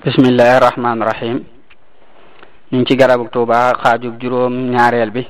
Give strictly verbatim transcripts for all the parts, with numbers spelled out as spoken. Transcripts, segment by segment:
bismillahi rahmaani rahim ñu ngi ci garabu Tuuba xaajub juróom ñaareel bi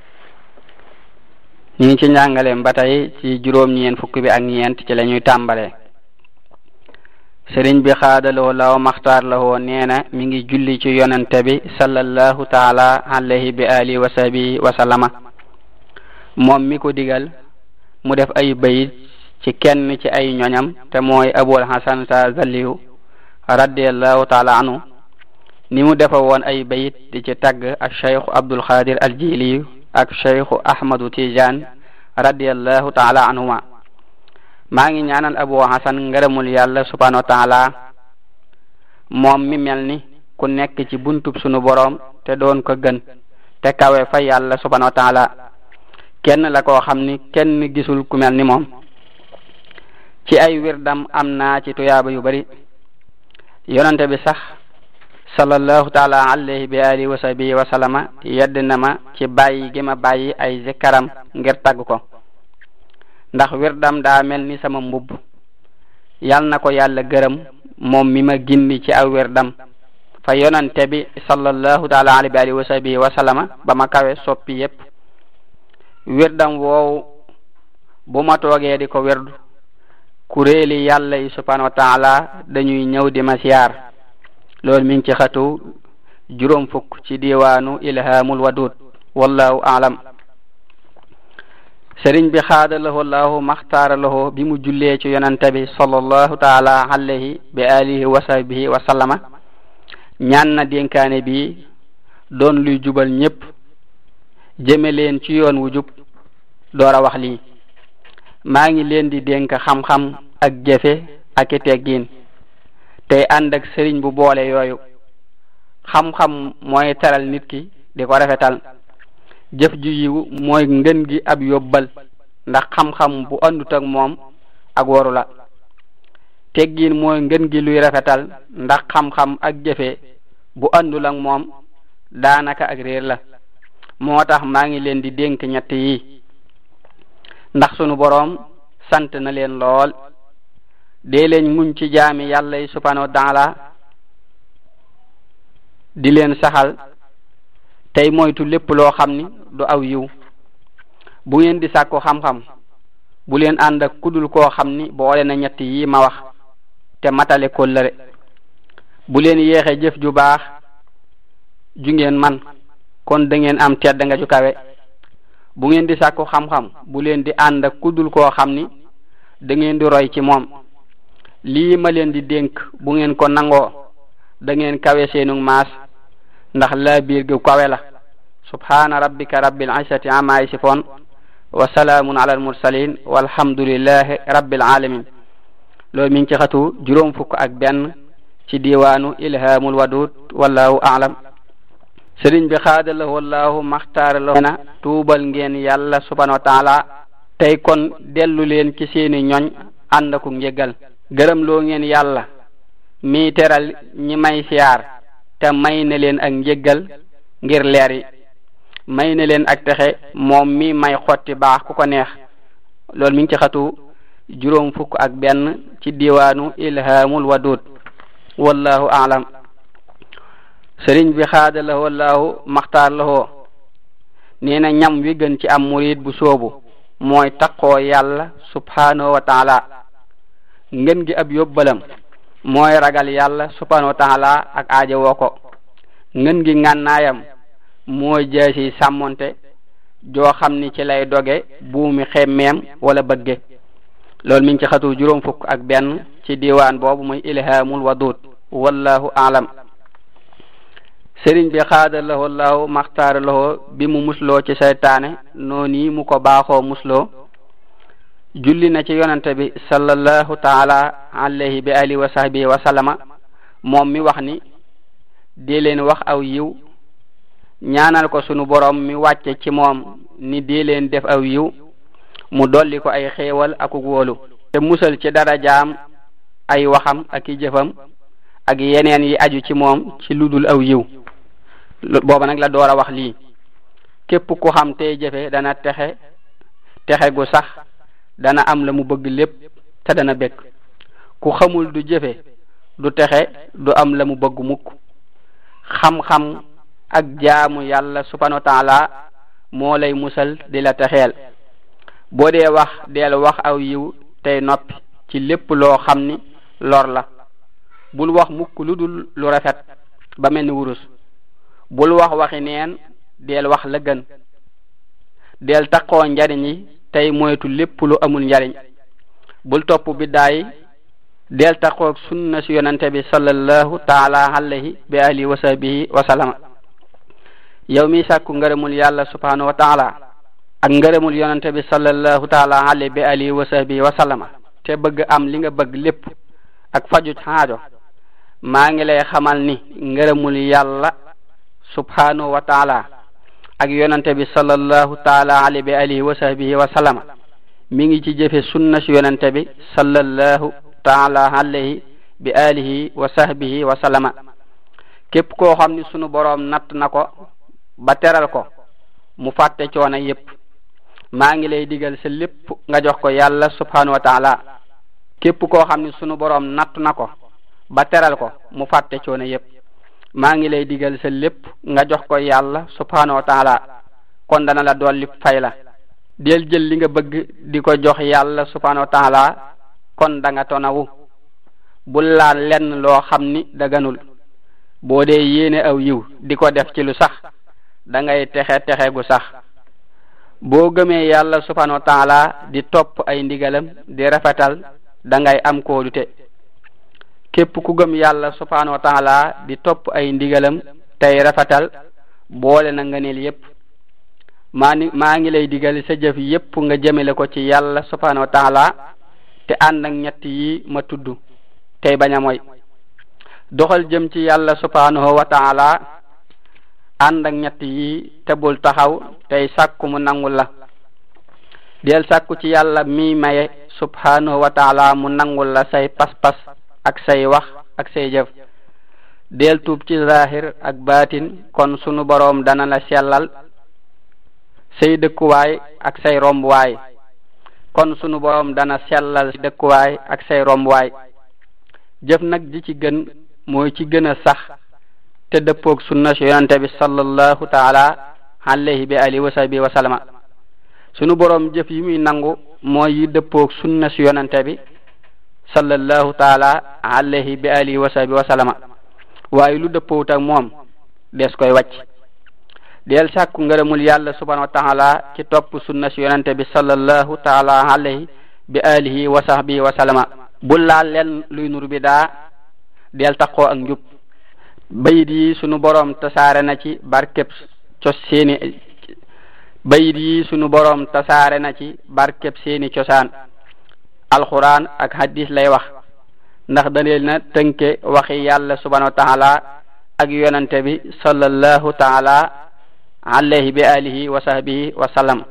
ñu ngi ci njàngaleem ba tey ci juróom ñeent fukk bi ak ñeent ci la ñuy tàmbalee. sëriñ bi xaadaloo law maxtaar la woo nee na mi ngi julli ci yonente bi sallallahu taala alayhi bi alihi wa sahbihi wa sallama moom mi ko digal mu def ay bayit ci kenn ci ay ñoñam te mooy Abul Hasan Zaliyu radiyallahu taala anhu ni mu defa woon ay bayit di ci tagg ak cheikhu Abdul Qadir al Jili ak cheikhu Ahmadu Tijan radiyallahu taala anhuma. maa ngi ñaanal Abu Hasan ngërëmul yàlla subhanahu wa taala moom mi mel ni ku nekk ci buntub sunu boroom te doon ko gën te kawe fa yàlla subhanahu wa taala kenn la koo xam ni kenn gisul ku mel ni moom. ci ay wirdam am naa ci tuyaaba yu bari yonente bi sax sallallahu taala alayhi bi alihi wa sahbihi wa sallama yedd na ma ci bàyyi gi ma bàyyi ay zikaram ngir tagg ko ndax wirdam daa mel ni sama mbubb yal na ko yàlla gërëm moom mi ma gindi ci aw wirdam fa yonente bi sallallahu taala alayhi bi alihi wa sahbihi wa sallama ba ma kawe soppi yépp wirdam woowu bu ma toogee di ko wirdu kuréeli yàlla yi subhanahu wa taala dañuy ñëw di ma siyaar loolu mi ngi ci xatu juróom fukk ci diwaanu ilhamul wadud wallahu aalam. sëriñ bi xaadalahu llahu maxtaara lahu bi mu jullee ci yonante bi sallallahu taala alayhi bi alihi wa sahbihi wa sallama ñaan na dénkaane bi doon luy jubal ñépp jëme leen ci yoon wu jub door a wax lii maa ngi leen di dénk xam-xam ak jëfe ak i teggin tey ànd ak sëriñ bu boole yooyu. xam-xam mooy teral nit ki di ko rafetal jëf ju yiw mooy ngën gi ab yóbbal ndax xam-xam bu àndut ak moom ak waru la. teggin mooy ngën gi luy rafetal ndax xam-xam ak jëfe bu àndul ak moom daanaka ak réer la. moo tax maa ngi leen di dénk ñett yi ndax sunu boroom sant na leen lool dee leen muñ ci jaami yàlla yi subhanahu wa taala di leen saxal tey moytu lépp loo xam ni du aw yiw. bu ngeen di sàkku xam-xam bu leen ànd ak kudul koo xam ni boole na ñett yi ma wax te matale kóllëre. bu leen yéexe jëf ju baax ju ngeen man kon da ngeen am tedd nga ju kawe. bu ngeen di sàkku xam-xam bu leen di ànd ak kudul koo xam ni da ngeen di roy ci moom. lii ma leen di dénk bu ngeen ko nangoo da ngeen kawe seenu maas ndax laa biir gu kawe la. subhana rabbika rabbil izzati amma yasifun wa salaamun ala al mursalin walhamdulillahi rabbil alamin. loolu mi ngi ci xatu juróom fukk ak benn ci diwaanu ilhamul wadud wallahu a'lam. sëriñ bi xaadalahu wallahu maxtaara lahu na tuubal ngeen yàlla subhanahu wa taala tey kon dellu leen ci seeni ñoñ ànd ak njëggal. gërëm loo ngeen yàlla mi teral ñi may siyaar te may na leen ak njëggal ngir leer yi may na leen ak texe moom mi may xotti baax ku ko neex. loolu mi ngi ci xatu juróom fukk ak benn ci diwaanu ilhamul wadud wallahu a'lam. sëriñ bi xaadalahu wallahu maxtaar lahoo nee na ñam wi gën ci am murid bu soobu mooy taqoo yàlla subhanahu wa taala. ngën gi ab yóbbalam mooy ragal yàlla subhanahu wa taala ak aaja woo ko. ngën gi ngànnaayam mooy jaasi sàmmonte joo xam ni ci lay doge buumi xemmeem wala bëgge. loolu mi ngi ci xatu juróom fukk ak benn ci diwaan boobu muy ilhamul wadud wallahu a'lam. sëriñ bi xaadalahu allahu maxtaara lahu bi mu musloo ci seytaane noonu mu ko baaxoo musloo julli na ci yonante bi sallallahu taala alayhi bi alihi wa sahbihi wa sallama moom mi wax ni dee leen wax aw yiw ñaanal ko sunu boroom mi wàcce ci moom ni dee leen def aw yiw mu dolli ko ay xéewal ak wóolu te musal ci darajaam ay waxam ak i jëfam ak yeneen yi aju ci moom ci ludul aw yiw. booba nag la door a wax lii képp ku xam tey jëfe dana texe texe gu sax dana am la mu bëgg lépp te dana bekk ku xamul du jëfe du texe du am la mu bëgg mukk xam-xam ak jaamu yàlla subhanahu wa taala moo lay musal di la texeel boo dee wax deel wax aw yiw tey noppi ci lépp loo xam ni lor la bul wax mukk lu dul lu rafet ba mel ni wurus bul wax waxi neen deel wax la gën deel taqoo njariñ yi tey moytu lépp lu amul njariñ bul topp biddaay deel taqoo sunna si yonante bi sallallahu taala alayhi bi alihi wa sahbihi wa sallama yow mi sàkku ngërëmul yàlla subhanahu wa taala ak ngërëmul yonante bi sallallahu taala alayhi bi alihi wa sahbihi wa sallama te bëgg am li nga bëgg lépp ak faju xaajo maa ngi lay xamal ni ngërëmul yàlla subhanahu wa taala ak yonante bi sallallahu taala alayhi bi alihi wa sahbihi wa sallama mi ngi ci jëfe sunna si yonante bi sallallahu taala alayhi bi alihi wa sahbihi wa sallama képp koo xam ni sunu boroom natt na ko ba teral ko mu fàtte coono yépp maa ngi lay digal sa lépp nga jox ko yàlla subhanahu wa taala képp koo xam ni sunu boroom natt na ko ba teral ko mu fàtte coono yépp maa ngi lay digal sa lépp nga jox ko yàlla subhanahu wa taala kon dana la dolli fay la del jël li nga bëgg di ko jox yàlla subhanahu wa taala kon da nga tonawu bul laal lenn loo xam ni daganul boo dee yéene aw yiw di ko def ci lu sax da ngay texe texe gu sax boo gëmee yàlla subhanahu wa taala di topp ay ndigalam di rafetal da ngay am kóolute képp ku gëm yàlla subhanahu wa taala di topp ay ndigalam tey rafetal boole na ngëneel yépp maa ni maa ngi lay digal sa jëf yépp nga jëmele ko ci yàlla subhanahu wa taala te ànd ak ñett yi ma tudd tey bañ a moy doxal jëm ci yàlla subhanahu wa taala ànd ak ñett yi te bul taxaw tey sàkku mu nangul la del sàkku ci yàlla mi maye subhanahu wa taala mu nangul la say pas-pas ak say wax ak say jëf del tuub ci zahir ak baatin kon sunu boroom dana la sellal say dëkkuwaay ak say rombuwaay kon sunu boroom dana sellal dëkkuwaay ak say rombuwaay jëf nag ji ci gën mooy ci gën a sax te dëppoog sunna si yonante bi sallallahu taala alayhi bi alihi wa sahbihi wa sallama sunu boroom jëf yi muy nangu mooy yi dëppoog sunna si yonante bi sallallahu taala alayhi bi alihi wa sahbihi wa sallama waaye lu dëppoowut ak moom des koy wàcc del sàkku ngërëmul yàlla subhanahu wa taala ci topp sunna si yonante bi sallallahu taala alayhi bi alihi wa sahbihi wa sallama bul laal leen luy nur bi daa del taqoo ak njub bayit yi sunu boroom tasaare na ci barkeb cos seeni bayit yi sunu boroom tasaare na ci barkeb seeni cosaan alquran ak hadis lay wax ndax daneel na tënke waxi yàlla subhanahu wa taala ak yonante bi sallallahu taala alayhi bi alihi wa sahbihi wa sallam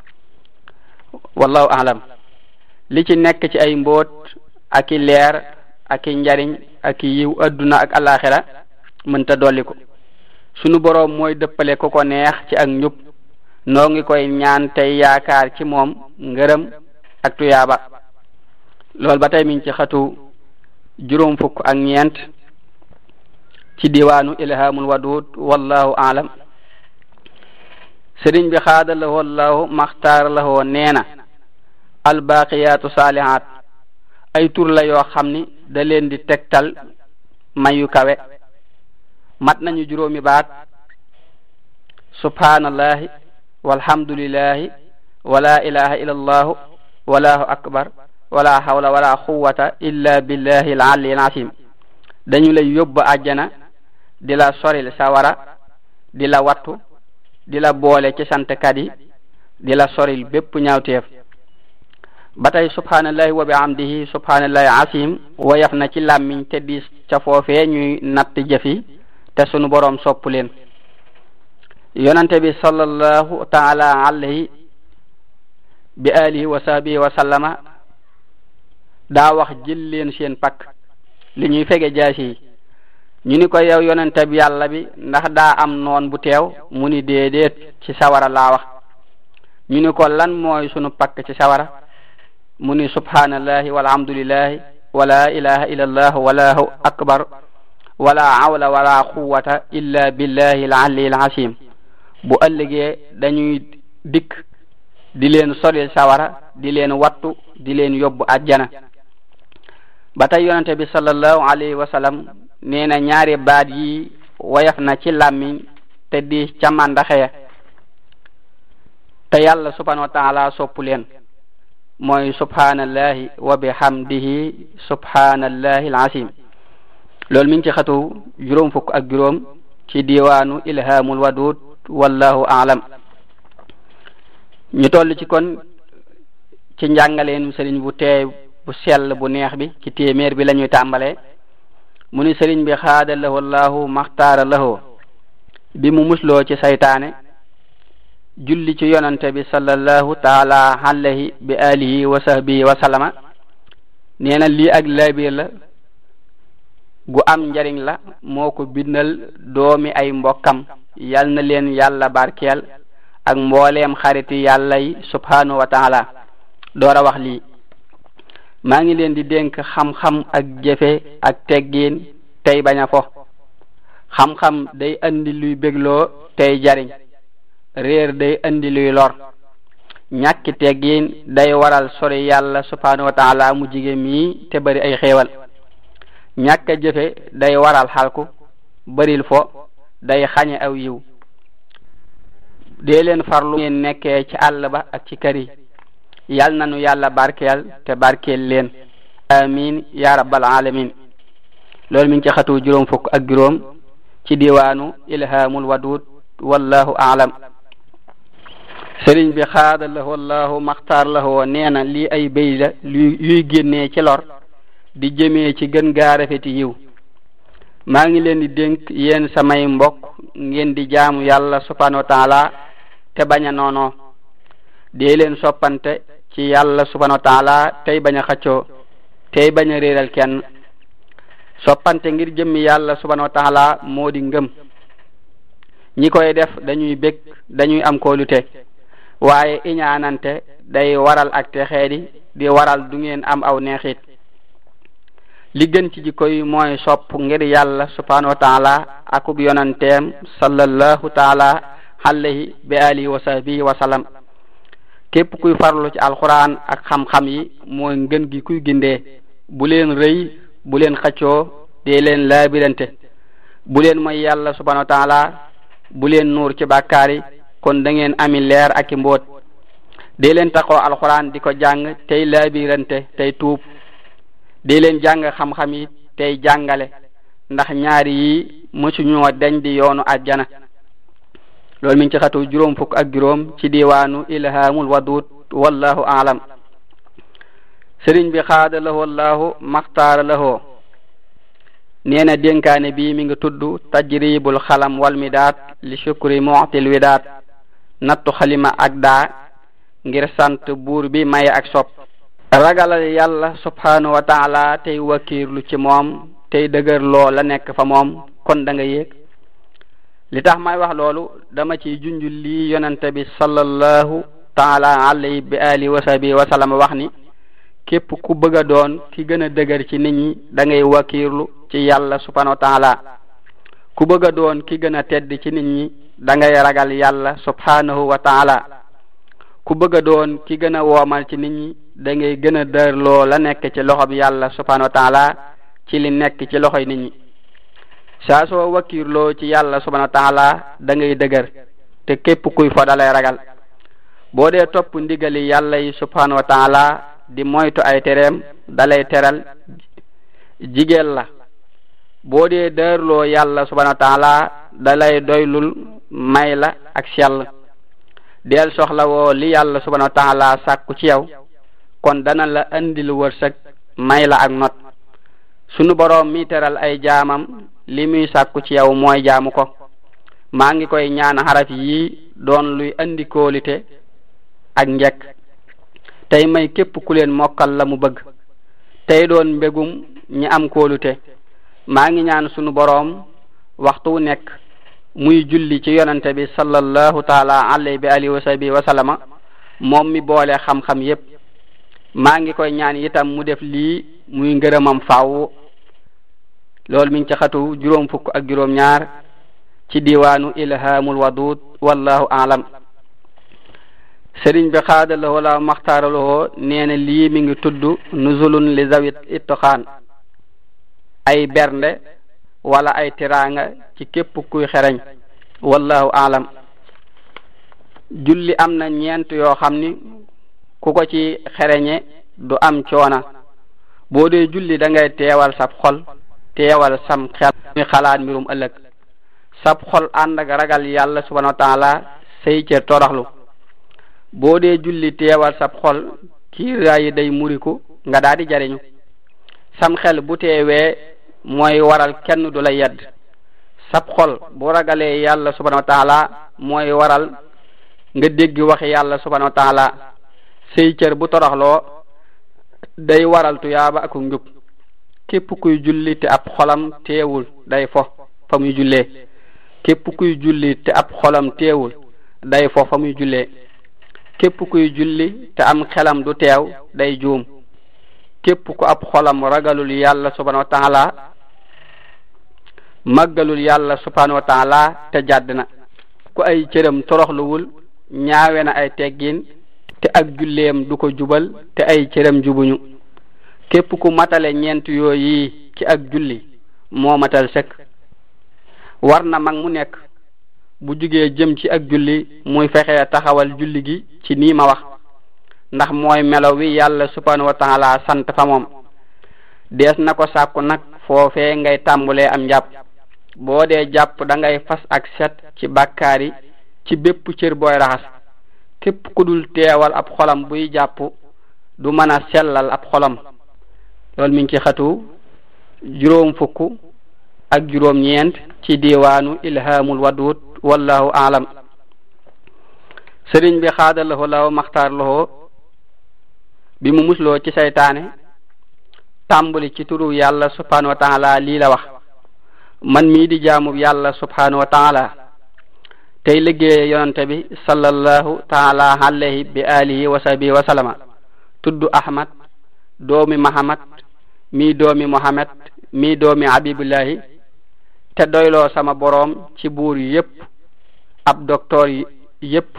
wallahu a'lam li ci nekk ci ay mbóot ak i leer ak i njariñ ak i yiw adduna ak alaxira mënta dolli ko sunu boroom mooy dëppale ku ko neex ci ak njub noo ngi koy ñaan tey yaakaar ci moom ngërëm ak tuyaaba loolu ba tey mi ngi ci xatu juróom fukk ak ñeent ci diwaanu ilhamul wadud wallahu a'lam sëriñ bi xaada lahoo allahu maxtaar lahoo nee na albaqiyatu salihat ay tur la yoo xam ni da leen di tegtal mayu kawe mat nañu juróomi baat subhanallahi walhamdulillahi wala ilaha illa allahu wallahu akbar wala hawla wala quwwata illa billahi al-ali al-azim dañu lay yóbbu àjjana di la soril sawara di la wattu di la boole ci santkat yi di la soril bépp ñaawteef ba tey subhanallahi wa bihamdihi subhanallahi azim woyof na ci làmmiñ te diis ca foofee ñuy natt jëfi te sunu boroom sopp leen yonante bi sallallahu taala alayhi bi alihi wa sahbihi wa sallama daa wax jël leen seen pakk li ñuy fege jaasi yi ñu ni ko yow yonante bi yàlla bi ndax daa am noon bu teew mu ni déedéet ci sawara laa wax ñu ni ko lan mooy sunu pakk ci sawara mu ni subhanallahi walhamdulillahi wala ilaha illa allah wallahu akbar wala hawla wala quwwata illa billahi al-ali al-azim bu ëllëgee dañuy dikk di leen soril sawara di leen wattu di leen yóbbu àjjana. ba tey yonente bi sallallahu alayhi wa sallam nee na ñaari baat yi woyof na ci làmmiñ te di ca màndaxee te yàlla subhanahu wa taala soppu leen mooy subhanallahi wa bihamdihi subhanallahi al-azim. loolu mi ngi ci xatu juróom fukk ak juróom ci diwaanu ilhamul wadud wallahu a'lam. ñu toll ci kon ci njàngaleen sëriñ bu teey bu sell bu neex bi ci téeméer bi la ñuy tàmbalee mu ni sëriñ bi xaada lahu allahu maxtaara lahu bi mu musloo ci saytaane julli ci yonante bi sallallahu taala alayhi bi alihi wa sahbihi wa sallama. nee na lii ak laabiir la gu am njariñ la moo ko bindal doomi ay mbokkam yal na leen yàlla barkeel ak mbooleem xariti yàlla yi subhanahu wa taala. door a wax lii maa ngi leen di dénk xam-xam ak jëfe ak teggiin tey bañ a fo. xam-xam day andi luy bégloo tey jariñ, réer day andi luy lor. ñàkki teggiin day waral sori yàlla subhanahu wa taala mu jige mii te bari ay xéewal. ñàkk a jëfe day waral xalku, baril fo day xañe aw yiw. dee leen farlu ngeen nekkee ci àll ba ak ci kër yi, yal nanu yàlla barkeel te barkeel leen amin ya rabbal alamin. loolu mi ngi ci xatu juróom fukk ak juróom ci diwaanu ilhamul wadud wallahu a'lam. sëriñ bi xaada lahu wallahu maxtaar lahu nee na lii ay béy la yuy génnee ci lor di jëmee ci gën gaa rafeti yiw. maa ngi leen di dénk yéen samay mbokk ngeen di jaamu yàlla subhanahu wa taala te bañ a noonoo. dee leen soppante ci yàlla subhanahu wa taala tey bañ a xëccoo tey bañ a réeral kenn. soppante ngir jëmmi yàlla subhanahu wa taala moo di ngëm. ñi koy def dañuy bég dañuy am kóolute, waaye iñaanante day waral ak texeedi di waral du ngeen am aw neexit. li gën ci jikko yi mooy sopp ngir yàlla subhanahu wa taala akub yonanteem sallallahu taala alayhi bi alihi wa sahbihi wa sallam. képp kuy farlu ci alquran ak xam-xam yi mooy ngën gi kuy gindee. bu leen rëy bu leen xëccoo dee leen laabirante. bu leen mooy yàlla subhanahu wa taala bu leen nuur ci bàkkaar yi kon da ngeen ami leer ak i mbóot. dee leen taxoo alquran di ko jàng tey laabirante tey tuub. dee leen jàng xam-xam yi tey jàngale ndax ñaari yi mësuñoo dañ di yoonu àjjana. loolu mi ngi ci xatu juróom fukk ak juróom ci diwaanu ilhamul wadud wallahu a'lam. sëriñ bi xaada lahu wallahu maxtaara lahu nee na dénkaane bi mi ngi tudd tajribul xalam wal midaat li shukri mu'til widaat. nattu xalima ak daa ngir sant buur bi maye ak sopp. ragalal yàlla subhanahu wa taala tey wakiirlu ci moom tey dëgër loo la nekk fa moom kon da nga yéeg. li tax may wax loolu dama ci junjul lii yonente bi sallallahu taala alayhi bi alihi wa sahbihi wa sallam wax ni képp ku bëgg a doon ki gën a dëgër ci nit ñi da ngay wakiirlu ci yàlla subhanahu wa taala. ku bëgg a doon ki gën a tedd ci nit ñi da ngay ragal yàlla subhanahu wa taala. ku bëgg a doon ki gën a woomal ci nit ñi da ngay gën a dërloo la nekk ci loxob yàlla subhanahu wa taala ci li nekk ci loxoy nit ñi. saa soo wakiirloo ci yàlla subhanahu wa taala da ngay dëgër te képp kuy fo dalay ragal. boo dee topp ndigali yàlla yi subhanahu wa taala di moytu ay tereem dalay teral jigéel la. boo dee dërloo yàlla subhanahu wa taala dalay doylul may la ak sell. del soxla woo li yàlla subhanahu wa taala sàkku ci yow kon dana la andil wërsëg may la ak not. sunu boroom mi teral ay jaamam li muy sàkku ci yow mooy jaamu ko. maa ngi koy ñaan xaraf yi doon luy andi kóolite ak njekk tey may képp ku leen mokkal la mu bëgg tey doon mbégum ñi am kóolute. maa ngi ñaan sunu boroom waxtu wu nekk muy julli ci yonante bi sallallahu taala alayhi bi alihi wa sahbihi wa sallama moom mi boole xam-xam yépp. maa ngi koy ñaan itam mu def lii muy ngërëmam faaw. loolu mi ngi ci xatu juróom fukk ak juróom ñaar ci diwaanu ilhamul wadud wallahu aalam. sëriñ bi xaadalawoo la maxtaaralowoo nee na lii mi ngi tudd nuzulun li zawit ittoxaan ay bernde wala ay tiraanga ci képp kuy xereñ wallahu aalam. julli am na ñeent yoo xam ni ku ko ci xereñe du am coona. boo dee julli da ngay teewal sab xol teewal sam xel muy xalaat mbirum ëllëg. sab xol ànd ak ragal yàlla subhanahu wa taala say cër toroxlu. boo dee julli teewal sab xol kiiraay yi day muriku nga daal di jariñu. sam xel bu teewee mooy waral kenn du la yedd. sab xol bu ragalee yàlla subhanahu wa taala mooy waral nga dégg waxi yàlla subhanahu wa taala. say cër bu toroxloo day waral tuyaaba ak njub. képp kuy julli te ab xolam teewul day fo fa muy jullee. képp kuy julli te ab xolam teewul day fo fa muy jullee. képp kuy julli te am xelam du teew day juum. képp ku ab xolam ragalul yàlla subhanahu wa taala màggalul yàlla subhanahu wa taala te jàdd na. ku ay cëram toroxluwul ñaawe na ay teggin te ak julleem du ko jubal te ay cëram jubuñu. képp ku matale ñeent yooyu ci ak julli moo matal sëkk. war na mag mu nekk bu jugee jëm ci ak julli muy fexee taxawal julli gi ci nii ma wax ndax mooy melo wi yàlla subhanahu wa taala sant fa moom. dees na ko sàkku nag foofee ngay tàmbulee am njàpp. boo dee jàpp da ngay fas ak set ci bàkkaar yi ci bépp cër booy raxas. képp ku dul teewal ab xolam buy jàpp du mën a sellal ab xolam. loolu mi ngi ci xatu juróom fukk ak juróom ñeent ci diwaanu ilhamul wadud wallahu aalam. sëriñ bi xaadalahoo law maxtaar lahoo bi mu musloo ci saytaane tàmbali ci turu yàlla subhanahu wa taala lii la wax: man mii di jaamub yàlla subhanahu wa taala tey liggéeye yonante bi sallallahu taala alayhi bi alihi wa sahbihi wa sallama tudd ahmad doomi mahamad mii doomi muhammad mii doomi habibullahi te doyloo sama boroom ci buur yépp ab docteur yépp.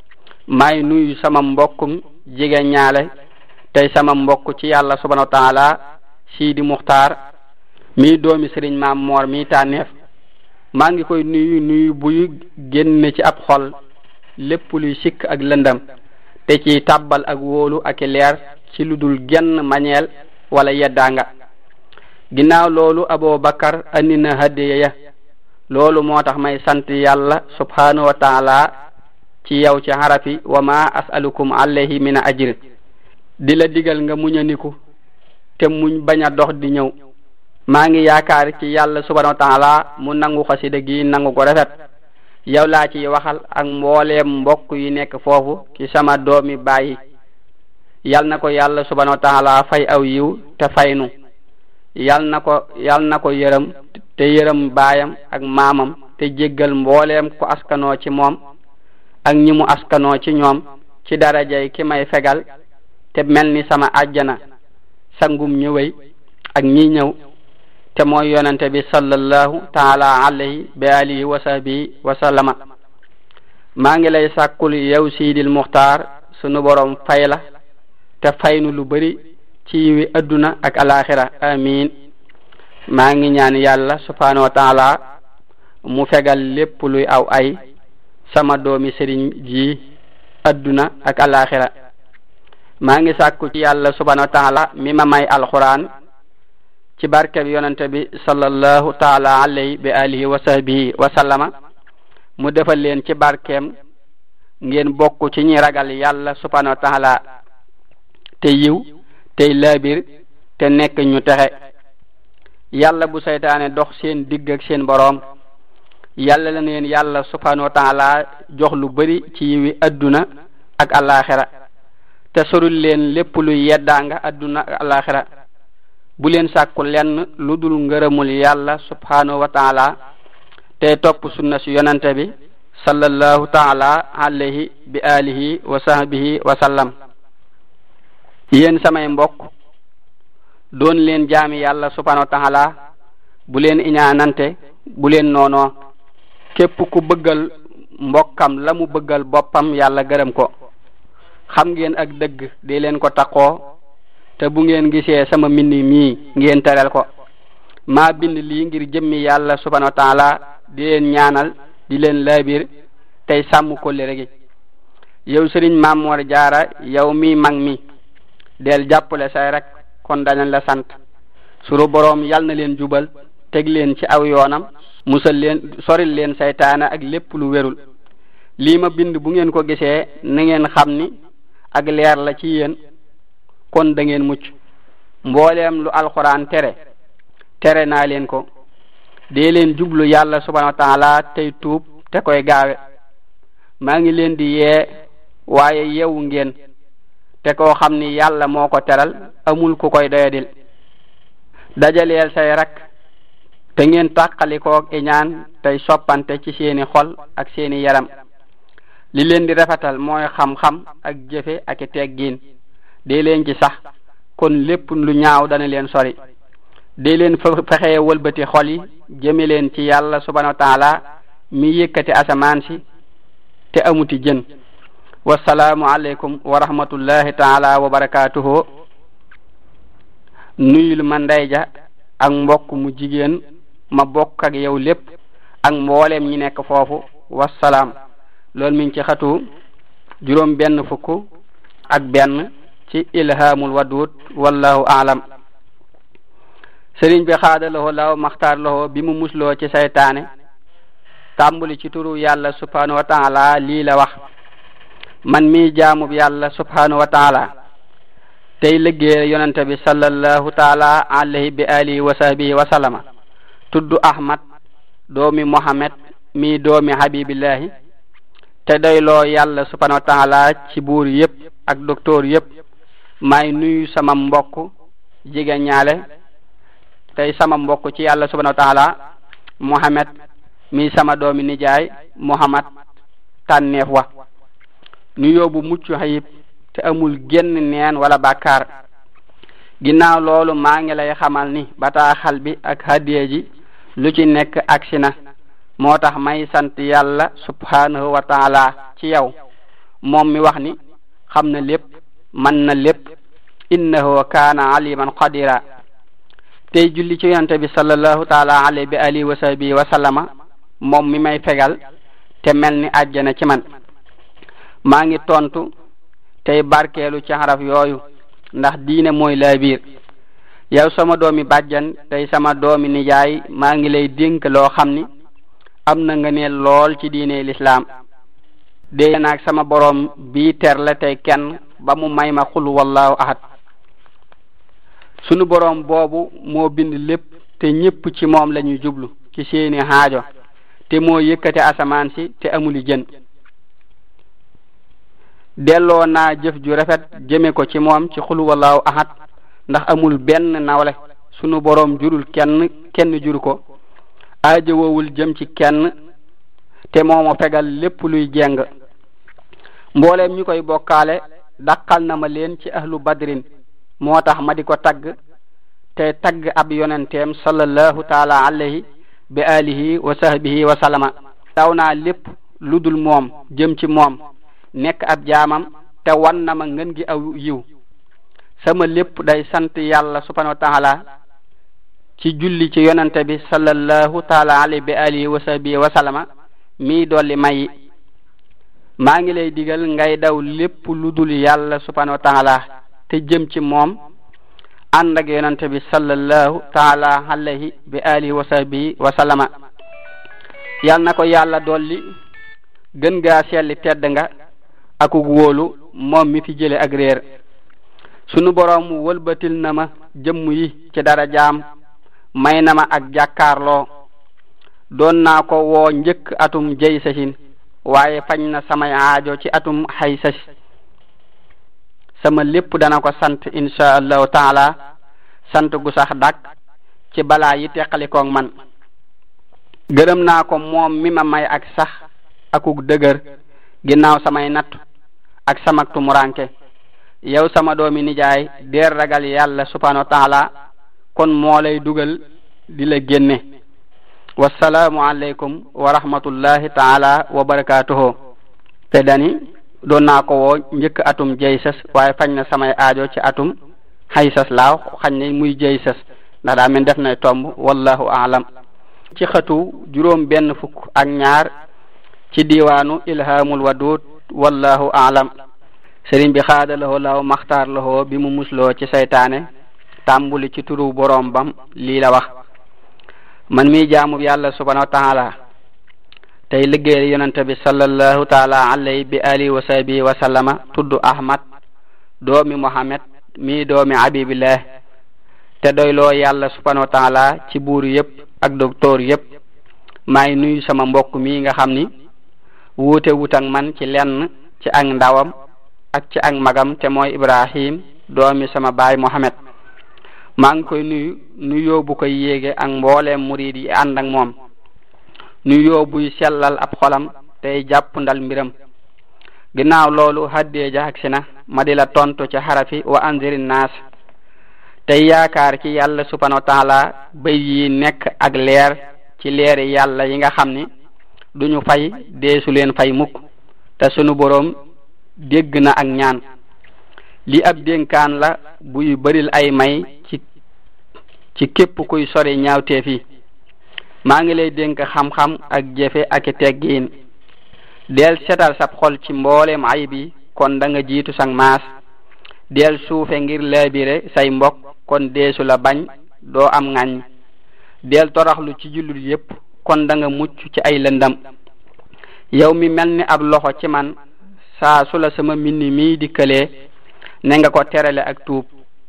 may nuyu sama mbokkum jigéen ñaale tey sama mbokk ci yàlla subhanahu wa taala Sidi Muxtaar mii doomi sëriñ Maam Moor mii tànneef. maa ngi koy nuyu nuyu buy génn ci ab xol lépp luy sikk ak lëndam te ci tàbbal ak wóolu ak leer ci lu dul genn mañeel wala yeddaanga. ginnaaw loolu Abu Bakar andi na hadiya ya. loolu moo tax may sant yàlla subhanahu wa taala ci yow ci harafi wa ma as'alukum alayhi min ajr. di la digal nga muñaniku te muñ bañ a dox di ñëw. maa ngi yaakaar ci yàlla subhanahu wa taala mu nangu xasida gi nangu ko rafet. yow laa ci waxal ak mbooleem mbokk yi nekk foofu ci sama doomi bàyyi. yal na ko yàlla subhanahu wa taala fay aw yiw te faynu. yal na ko yal na ko yërëm te yërëm baayam ak maamam te jéggal mbooleem ku askanoo ci moom ak ñi mu askanoo ci ñoom ci darajay ki may fegal te mel ni sama àjjana sangum ñëwey ak ñi ñëw te mooy yonente bi sallallahu taala alayhi bi alihi wa sahbihi wa sallama. maa ngi lay sàkkul yow Sidil Muxtaar sunu borom fay la te faynu lu bari ci yiwi adduna ak alaxira amin. maa ngi ñaan yàlla subhanahu wa taala mu fegal lépp luy aw ay sama doomi sëriñ ji adduna ak alaxira. maa ngi sàkku ci yàlla subhanahu wa taala mi ma may alquran ci barke bi yonente bi sallallahu taala alayhi bi alihi wa sahbihi wa sallama mu defal leen ci barkeem ngeen bokk ci ñi ragal yàlla subhanahu wa taala te yiw tey laabir te nekk ñu texe. yàlla bu saytaane dox seen digg ak seen boroom. yàlla la neen yàlla subhanahu wa taala jox lu bari ci yiwi adduna ak alaxira te sorul leen lépp luy yeddaanga adduna ak alaxira. bu leen sàkku lenn lu dul ngërëmul yàlla subhanahu wa taala te topp sunna si yonante bi sallallahu taala alayhi bi alihi wa sahbihi wa sallam. yéen samay mbokk doon leen jaami yàlla subhanahu wa ta'ala bu leen iñaanante bu leen noonoo képp ku bëggal mbokkam la mu bëggal boppam yàlla gërëm ko xam ngeen ak dëgg di leen ko taqoo te bu ngeen gisee sama mbind mii ngeen teral ko maa bind lii ngir jëmmi yàlla subhanahu wa ta'ala di leen ñaanal di leen laabir tey sàmm kóllëre gi yow sëriñ Maam Mor Jaara yow mi mag mi del jàppale say rek kon dañu la sant suru boroom yal na leen jubal teg leen ci aw yoonam musal leen soril leen saytaana ak lépp lu wérul lii ma bind bu ngeen ko gisee na ngeen xam ni ak leer la ci yéen kon da ngeen mucc mbooleem lu alxuraan tere tere naa leen ko dee leen jublu yàlla subhanahu wa ta'ala tey tuub te koy gaawe maa ngi leen di yee waaye yewu ngeen te koo xam ni yàlla moo ko teral amul ku koy doyadil dajaleel say rak te ngeen tàqalikoog iñaan tey soppante ci seeni xol ak seeni yaram li leen di rafetal mooy xam-xam ak jëfe ak teggiin dee leen ci sax kon lépp lu ñaaw dana leen sori dee leen fexee wëlbati xol yi jëme leen ci yàlla subhanahu wa ta'ala mi yëkkati asamaan si te amuti jën wasalaamu aleykum wa rahmatullahi taala wa barakatuhu nuyul ma ndeyja ak mbokk mu jigéen ma bokk ak yow lépp ak mbooleem ñi nekk foofu wasalaam loolu mi ngi ci xatu juróom benn fukk ak benn ci ilhamul wadud wallahu aalam sëriñ bi xaada lahu law maxtaar lahu bi mu musloo ci saytaane tàmbuli ci turu yàlla subhanahu wa ta'ala lii la wax man mi jaamub yàlla subhanahu wa ta'ala tey liggéey yonente bi sallallahu ta'ala alayhi bi alihi wa sahbihi wa sallama tuddu ahmad doomi muhammad mi doomi habibillahi te doyloo yàlla subhanahu wa ta'ala ci buur yépp ak docteur yépp may nuyu sama mbokk jigéen ñaale tey sama mbokk ci yàlla subhanahu wa ta'ala muhammad mi sama doomi nijaay muhammad tànneef wa nu yóbbu mucc xayib te amul genn neen wala bàkkaar ginnaaw loolu maa ngi lay xamal ni bataaxal bi ak hadiya ji lu ci nekk agsi na moo tax may sant yàlla subhanahu wa ta'ala ci yow moom mi wax ni xam na lépp man na lépp innahu kaana aliman qadira tey julli ci yonente bi sallallahu ta'ala alayhi bi alihi wa sahbihi wa sallama moom mi may fegal te mel ni àjjana ci man maa ngi tontu tey barkeelu ci xaraf yooyu ndax diine mooy laa biir yow sama doomi bàjjan tey sama doomi nijaay maa ngi lay dénk loo xam ni am na nga ne lool ci diine l'islam dee naag sama boroom bii ter la tey kenn ba mu may ma xul wallahu ahad sunu boroom boobu moo bind lépp te ñépp ci moom la ñuy jublu ci seeni haajo te moo yëkkate asamaan si te amuli jën delloo naa jëf ju rafet jëme ko ci moom ci xul wallahu ahad ndax amul benn nawle sunu boroom jurul kenn kenn juru ko aajowowul jëm ci kenn te moomo fegal lépp luy jeng mbooleem ñu koy bokkaale dàqal na ma leen ci ahlu badrin moo tax ma di ko tagg te tagg ab yonenteem sallallahu taala alayhi bi alihi wa sahbihi wa sallama daw naa lépp lu dul moom jëm ci moom nekk ab jaamam te wan na ma ngën gi aw yiw sama lépp day sant yàlla subhanahu wa ta'ala ci julli ci yonente bi sallallahu taala alayhi bi alihi wa sahbihi wa sallama mi dolli may maa ngi lay digal ngay daw lépp lu dul yàlla subhanahu wa ta'ala te jëm ci moom ànd ak yonente bi sallallahu taala alayhi bi alihi wa sahbihi wa sallama yal na ko yàlla dolli gën gaa selli tedd nga akuk wóolu moom mi fi jële ak réer sunu boroom wëlbatil na ma jëmm yi ci dara jaam may na ma ak jàkkaarloo doon naa ko woo njëkk atum jay sasin waaye fañ na samay aajo ci atum xay sas sama lépp dana ko sant insha allahu taala sant gu sax dak ci balaa yi teqalikoog man gërëm naa ko moom mi ma may ak sax akuk dëgër ginnaaw samay natt ak samak tumuranke yow sama doomi nijaay deer ragal yàlla subhanahu wa taala kon moo lay dugal di la génne. wassalaamu aleykum wa rahmatullahi taala wa barakatuhu. te dani doon naa ko woo njëkk atum jaysas waaye fañ na samay aajo ci atum haysas laaw xañ ne muy jaysas ndax daa men def nay tomb wallahu aalam. ci xatu juróom benn fukk ak ñaar ci diwaanu ilhamul wadud wallahu aalam. sëriñ bi xaada lahoo laaw maxtaar lahoo bi mu musloo ci saytaane tàmbuli ci turu boroom bam lii la wax: man mi jaamu yàlla subhanahu wa taala tey liggéeyal yonente bi sallallahu taala alayhi bi alihi wa sahbihi wa sallama tudd ahmad doomi muhammad mi doomi habibillah te doyloo yàlla subhanahu wa taala ci buur yëpp ak docteur yëpp. maay nuyu sama mbokk mi nga xam ni wuute wut ak man ci lenn ci ak ndawam ak ci ak magam te mooy ibrahim doomi sama baay muhammad. maa ngi koy nuyu nuyoo bu koy yéege ak mbooleem murid yi ànd ak moom, nuyoo buy sellal ab xolam tey jàpp ndal mbiram. ginnaaw loolu haddee ja agsi na ma di la tontu ci xarafi wa anziri naas tey yaakaar ci yàlla subhanahu wa taala bay yi nekk ak leer ci leeri yàlla yi nga xam ni duñu fay deesu leen fay mukk te sunu boroom dégg na ak ñaan. li ab dénkaan la buy bëril ay may ci ci képp kuy sori ñaawteef yi. maa ngi lay dénk xam-xam ak jëfe ak teggiin. del setal sab xol ci mbooleem ayib yi kon da nga jiitu sang maas. del suufe ngir laabire say mbokk kon deesu la bañ doo am ŋàññ. del toraxlu ci jullit yépp kon da nga mucc ci ay lëndam. yow mi mel ni ab loxo ci man saa su la sama mbind mi dikkalee ne nga ko terale ak tuub.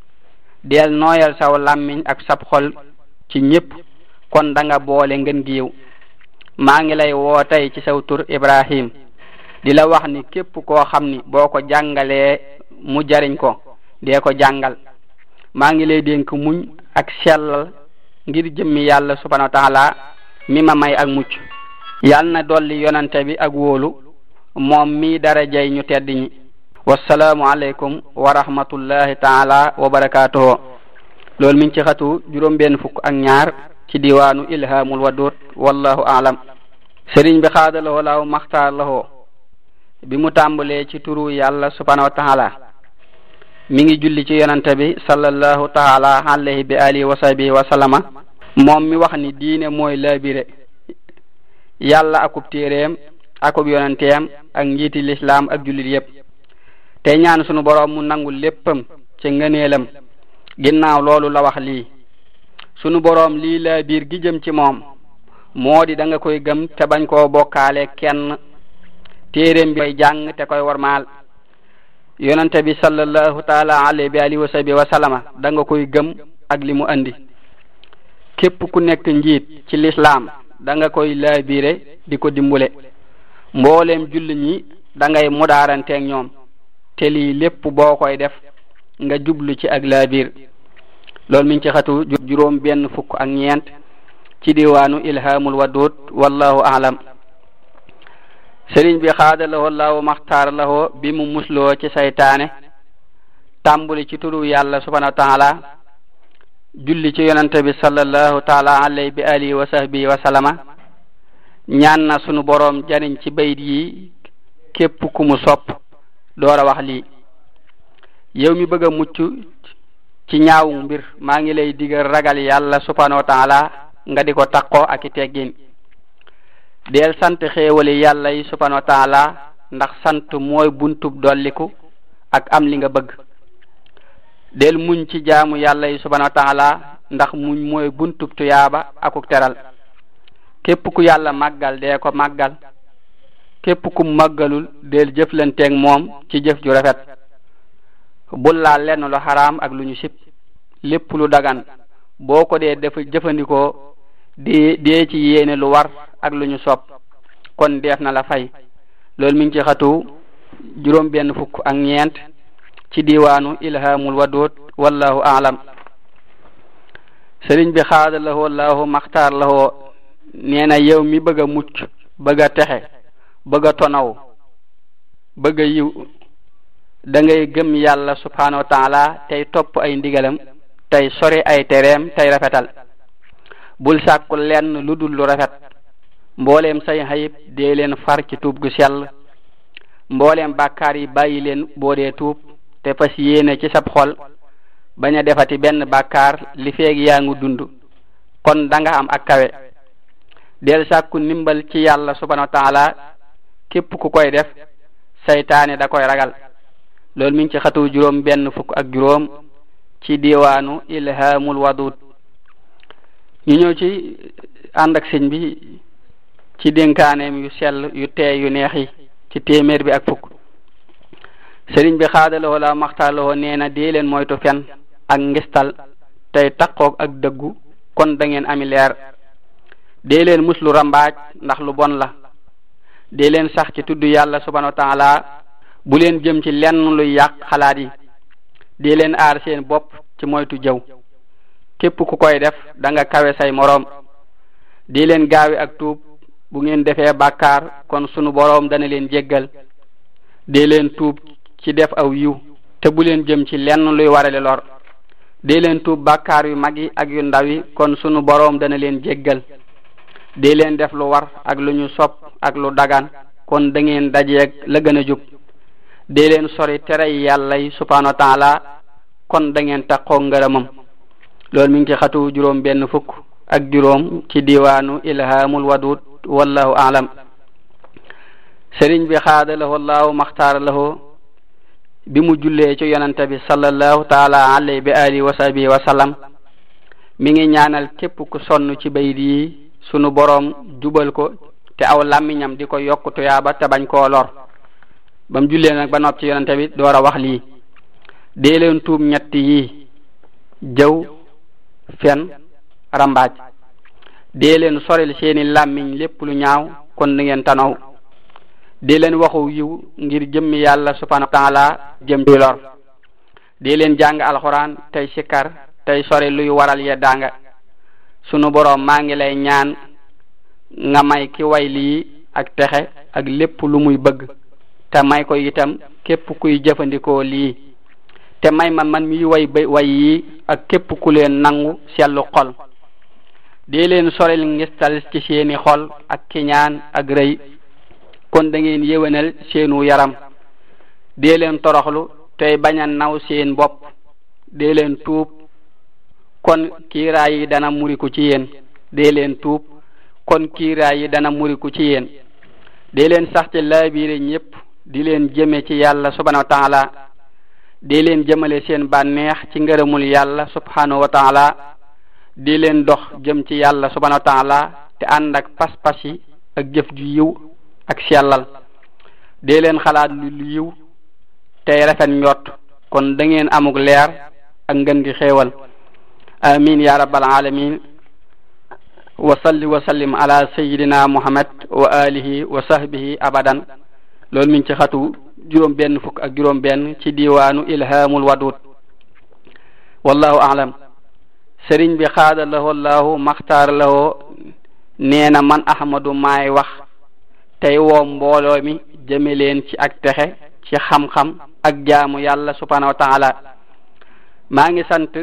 del nooyal saw làmmiñ ak sab xol ci ñépp kon da nga boole ngeen giiw. maa ngi lay woo tey ci saw tur ibrahim di la wax ni képp koo xam ni boo ko jàngalee mu jariñ ko dee ko jàngal. maa ngi lay dénk muñ ak sellal ngir jëmmi yàlla subhanahu wa taala mi ma may ak mucc. yàlla na dolli yonante bi ak wóolu moom mi darajay ñu tedd ñi. wassalaamu aleykum wa rahmatullahi taala wa barakatuhu. loolu mi ngi ci xatu juróom benn fukk ak ñaar ci diwaanu ilhamul wadud wallahu aalam. sëriñ bi xaada lahoo laaw maxtaar lahoo bi mu tàmbalee ci turu yàlla subhanahu wa taala mi ngi julli ci yonante bi sallallahu taala alayhi bi alihi wa sahbihi wa sallama moom mi wax ni diine mooy laabire yàlla akub téeréem akub yonanteem ak njiiti lislaam ak jullit yépp. te ñaan sunu boroom mu nangul léppam ci ngëneelam. ginnaaw loolu la wax lii: sunu boroom lii la biir gi jëm ci moom moo di da nga koy gëm te bañ koo bokkaale kenn. téeréem bi koy jàng te koy warmaal. yonante bi sallallahu taala alayhi bi alihi wa sahbihi wa sallama da nga koy gëm ak li mu andi. képp ku nekk njiit ci lislaam da nga koy laabire di ko dimbule. mbooleem julli ñi da ngay mudaaranteeg ñoom te lii lépp boo koy def nga jublu ci ak laabir. loolu mi ngi ci xatu juróom benn fukk ak ñeent ci diwaanu ilhamul wadud wallahu aalam. sëriñ bi xaada lahoo laaw maxtaar lahoo bi mu musloo ci saytaane tàmbuli ci turu yàlla subhanahu wa taala julli ci yonante bi sallallahu taala alayhi bi alihi wa sahbihi wa sallama ñaan na sunu boroom jariñ ci bayit yi képp ku mu sopp door a wax lii: yow mi bëgg a mucc ci ñaawu mbir maa ngi lay digal ragal yàlla subhanahu wa taala nga di ko takkoo ak i teggin. del sant xéewali yàlla yi subhanahu wa taala ndax sant mooy buntub dolliku ak am li nga bëgg. del muñ ci jaamu yàlla yi subhanahu wa taala ndax muñ mooy buntub tuyaaba akuk teral. képp ku yàlla màggal dee ko màggal. képp ku màggalul del jëflanteeg moom ci jëf ju rafet. bul laal lenn lu xaraam ak lu ñu sib. lépp lu dagan boo ko dee def jëfandikoo di dee ci yéene lu war ak lu ñu sopp kon def na la fay. loolu mi ngi ci xatu juróom benn fukk ak ñeent ci diwaanu ilhamul wadud wallahu aalam. sëriñ bi xaada lahoo laahu maxtaar lahoo nee na yow mi bëgg a mucc bëgg a texe bëgg a tonaw bëgg a yiw da ngay gëm yàlla subhanahu wa taala tey topp ay ndigalam tey sori ay tereem tey rafetal bul sàkku lenn lu dul lu rafet mbooleem say xayib dee leen far ci tuub gu sell mbooleem bàkkaar yi bàyyi leen boo dee tuub te fas yéene ci sab xol bañ a defati benn bàkkaar li feeg yaa ngi dund kon da nga am ak kawe del sàkku ndimbal ci yàlla subhanahu wa taala képp ku koy def saytaane da koy ragal loolu mi ngi ci xatu juróom benn fukk ak juróom ci diwaanu ilhamul wadud ñu ñëw ci ànd ak sëñ bi ci dénkaaneem yu sell yu teey yu neex yi ci téeméer bi ak fukk sëriñ bi xaadalawoo la maxtaalawoo nee na dee leen moytu fen ak ngistal tey taqoog ak dëggu kon da ngeen ami leer dee leen muslu rambaaj ndax lu bon la dee leen sax ci tudd yàlla subhanahu wa taala bu leen jëm ci lenn luy yàq xalaat yi dee leen aar seen bopp ci moytu jëw képp ku koy def da nga kawe say moroom dee leen gaawi ak tuub bu ngeen defee bàkkaar kon sunu boroom dana leen jéggal dee leen tuub ci def aw yiw te bu leen jëm ci lenn luy warale lor dee leen tuub bàkkaar yu mag yi ak yu ndaw yi kon sunu boroom dana leen jéggal dee leen def lu war ak lu ñu sopp ak lu dagan kon da ngeen dajeeg la gën a jub dee leen sori tere yàlla yi subhanahu wa taala kon da ngeen taqoo ngërëmam loolu mi ngi ci xatu juróom benn fukk ak juróom ci diwaanu ilhamul wadud wallahu a'lam sëriñ bi xaadalahu allahu maxtaara lahu bi mu jullee ci yonante bi sallallahu taala alayhi bi alihi wa sahbihi wa sallam mi ngi ñaanal képp ku sonn ci bayit yi sunu boroom jubal ko te aw làmmiñam di ko yokk tuyaaba te bañ koo lor ba mu jullee nag ba nopp ci yonante bi door a wax lii dee leen tuub ñett yi jëw fen rambaaj dee leen soril seeni làmmiñ lépp lu ñaaw kon da ngeen tanaw dee leen waxu yiw ngir jëmmi yàlla subhanahu wa taala jëm ci lor dee leen jàng alxuraan tey sikkar tey sori luy waral yeddaanga sunu boroom maa ngi lay ñaan nga may ki way lii ak texe ak lépp lu muy bëgg te may ko itam képp kuy jëfandikoo lii te may ma man mi way bay way yi ak képp ku leen nangu sellu xol dee leen soril ngistal ci seeni xol ak kiñaan ak rëy kon da ngeen yéwénal seenu yaram dee leen toroxlu tey bañ a naw seen bopp dee leen tuub kon kiiraay yi dana muriku ci yéen dee leen tuub kon kiiraay yi dana muriku ci yéen dee leen sax ci laabiire ñépp di leen jëme ci yàlla subhanahu wa taala dee leen jëmale seen bànneex ci ngërëmul yàlla subhanahu wa taala di leen dox jëm ci yàlla subhanahu wa taala te ànd ak pas-pas yi ak jëf ju yiw ak sellal dee leen xalaat lu yiw tey rafet njort kon da ngeen amuk leer ak ngën gi xéewal amin ya rabbal alamin wa salli wa sallim ala sayyidina muhammad wa alihi wa sahbihi abadan loolu mi ngi ci xatu juróom benn fukk ak juróom benn ci diwaanu ilhamul wadud wallahu a'lam sëriñ bi xaada lahu allahu maxtaar lahu nee na man ahmadu maay wax tey woo mbooloo mi jëme leen ci ak texe ci xam-xam ak jaamu yàlla subhanahu wa taala maa ngi sant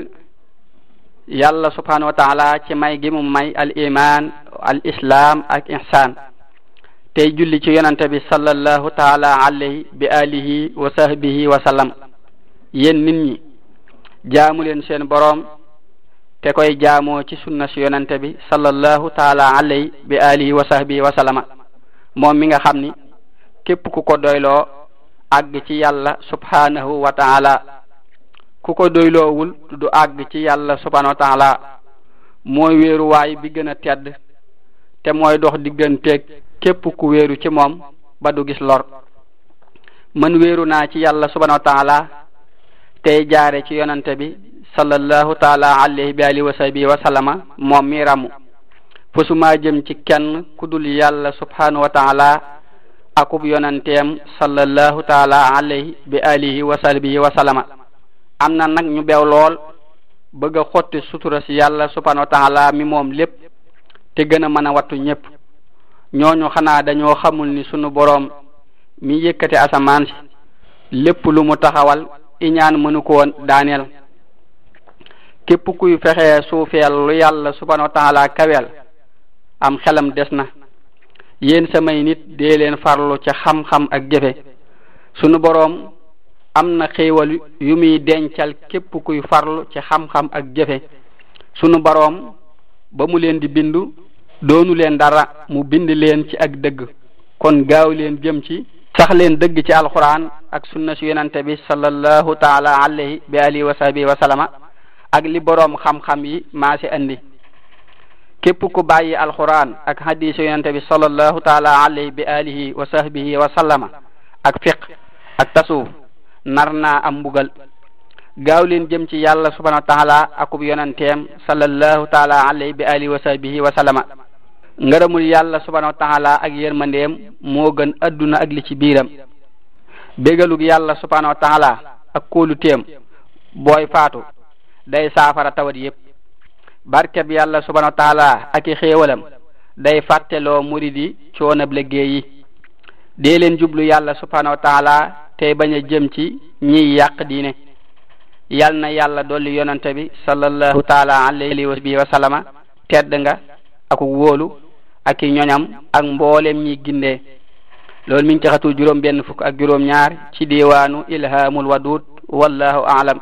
yàlla subhanahu wa taala ci may gi mu may al iman al islam ak ihsan tey julli ci yonante bi sallallahu taala alayhi bi alihi wa sahbihi wa sallam yéen nit ñi jaamu leen seen boroom te koy jaamoo ci sunna si yonante bi sallallahu taala alayhi bi alihi wa sahbihi wa sallama moom mi nga xam ni képp ku ko doyloo àgg ci yàlla subhanahu wa taala ku ko doyloowul du àgg ci yàlla subhanahu wa taala mooy wéeruwaay bi gën a tedd te mooy dox digganteeg képp ku wéeru ci moom ba du gis lor man wéeru naa ci yàlla subhanahu wa taala tey jaare ci yonante bi sallallahu taala alayhi bi alihi wa sahbihi wa sallama moom mi ramu fosuma jëm ci kenn ku dul yàlla subhanahu wa taala akub yonanteem sallallahu taala alayhi bi alihi wa sahbihi wa sallama am na nag ñu beew lool bëgg a xotti sutura si yàlla subhanahu wa taala mi moom lépp te gën a mën a wattu ñépp ñooñu xanaa dañoo xamul ni sunu boroom mi yëkkate asamaan si lépp lu mu taxawal iñaan mënu ko woon daaneel képp kuy fexee suufeel lu yàlla subhanahu wa taala kaweel am xelam des na. yéen samay nit dee leen farlu ci xam-xam ak jëfe sunu boroom am na xéewal yu muy dencal képp kuy farlu ci xam-xam ak jëfe sunu boroom ba mu leen di bindu doonu leen dara mu bind leen ci ak dëgg kon gaaw leen jëm ci sax leen dëgg ci alquran ak sunna si yonante bi sallallahu taala alayhi bi alihi wa sahbihi wa sallama ak li boroom xam-xam yi maa si andi képp ku bàyyi alquran ak hadis yonante bi sallallahu taala alayhi bi alihi wa sahbihi wa sallama ak fiq ak tasawuf nar naa am mbugal gaaw leen jëm ci yàlla subhanahu wa taala akub yonanteem sallallahu taala alayhi bi alihi wa sahbihi wa sallama ngërëmul yàlla subhanahu wa taala ak yërmandeem moo gën adduna ak li ci biiram bégalug yàlla subhanahu wa taala ak kóolu téem booy faatu day saafara tawat yépp barkeb yàlla subhanahu wa taala ak i xéewalam day fàtteloo muridi coonab liggéey yi dee leen jublu yàlla subhanahu wa taala tey bañ a jëm ci ñiy yàq diine yal na yàlla dolli yonante bi sallallahu taala alayhi wa sallama tedd nga ak wóolu ak i ñoñam ak mboolem ñi gindee loolu mi ngi ci xatu juróom benn fukk ak juróom ñaar ci diwaanu ilhamul wadud wallahu a'lam.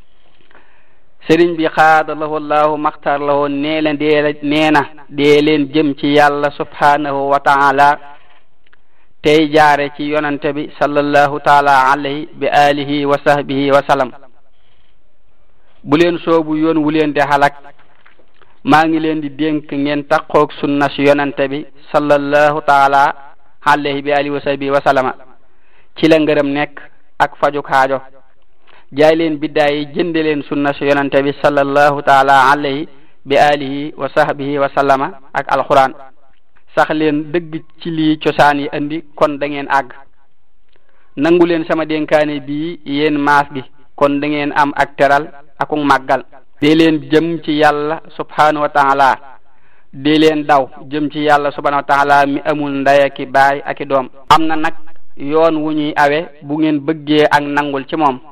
sëriñ bi xaada lahu allahu maxtar lahu nee la dee nee na dee leen jëm ci yàlla subhanahu wa taala tey jaare ci yonante bi sallallahu taala alayhi bi alihi wa sahbihi wa sallam bu leen soobu yoon wu leen di halak maa ngi leen di dénk ngeen taqoog sunna si yonante bi sallallahu taala alayhi bi alihi wa sahbihi wa sallama ci la ngërëm nekk ak fajuk haajo jaay leen biddaay yi jënde leen sunna si yonante bi sallallahu taala alayhi bi alihi wa sahbihi wa sallama ak alquran sax leen dëgg ci lii cosaan yi andi kon da ngeen àgg nangu leen sama dénkaane bii yéen maas gi kon da ngeen am ak teral akuk màggal dee leen jëm ci yàlla subhanahu wa taala dee leen daw jëm ci yàlla subhanahu wa taala mi amul ndey ki baay ak i doom am na nag yoon wu ñuy awe bu ngeen bëggee ak nangul ci moom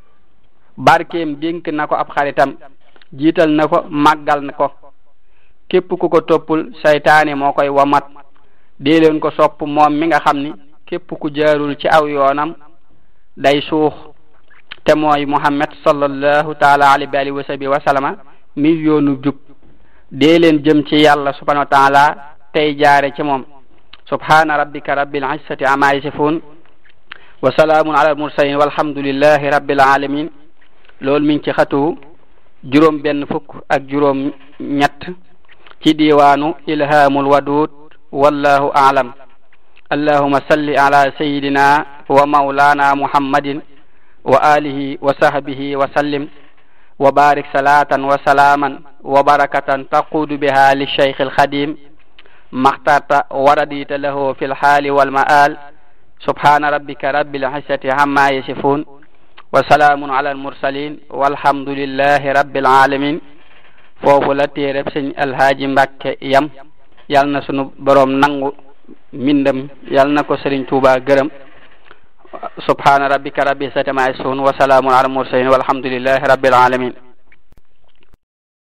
barkeem dénk na ko ab xaritam jiital na ko màggal na ko képp ku ko toppul saytaane moo koy wamat dee leen ko sopp moom mi nga xam ni képp ku jaarul ci aw yoonam day suux te mooy Muhammad sallallahu taala alayhi wa sahbihi wa sallama mi yoonu jub dee leen jëm ci yàlla subhanahu wa taala tey jaare ci moom subhana rabbika rabbil izzati amma yasifun wa salaamun ala al mursalin walhamdulillahi rabbil alamin loolu mi ngi ci xatu juróom benn fukk ak juróom ñett ci diwaanu ilhamul wadud wallahu a'lam. allahumma salli ala sayyidina wa maulana muhammadin wa alihi wa sahbihi wa sallim wa barik salatan wa salaman wa barakatan taqudu biha li shaykh al khadim makhtarta wa radita lahu fil hali wal ma'al subhana rabbika rabbil izzati amma yasifun wa salamun ala al mursalin walhamdulillahi rabbil alamin. foofu la téereb sëñ alhaaji Mbàkke yam yal na sunu boroom nangu mbindam yal na ko sëriñ Tuuba gërëm subhana rabbika rabbil izzati amma yasifun wa salamun ala al mursalin walhamdulillahi rabbil alamin.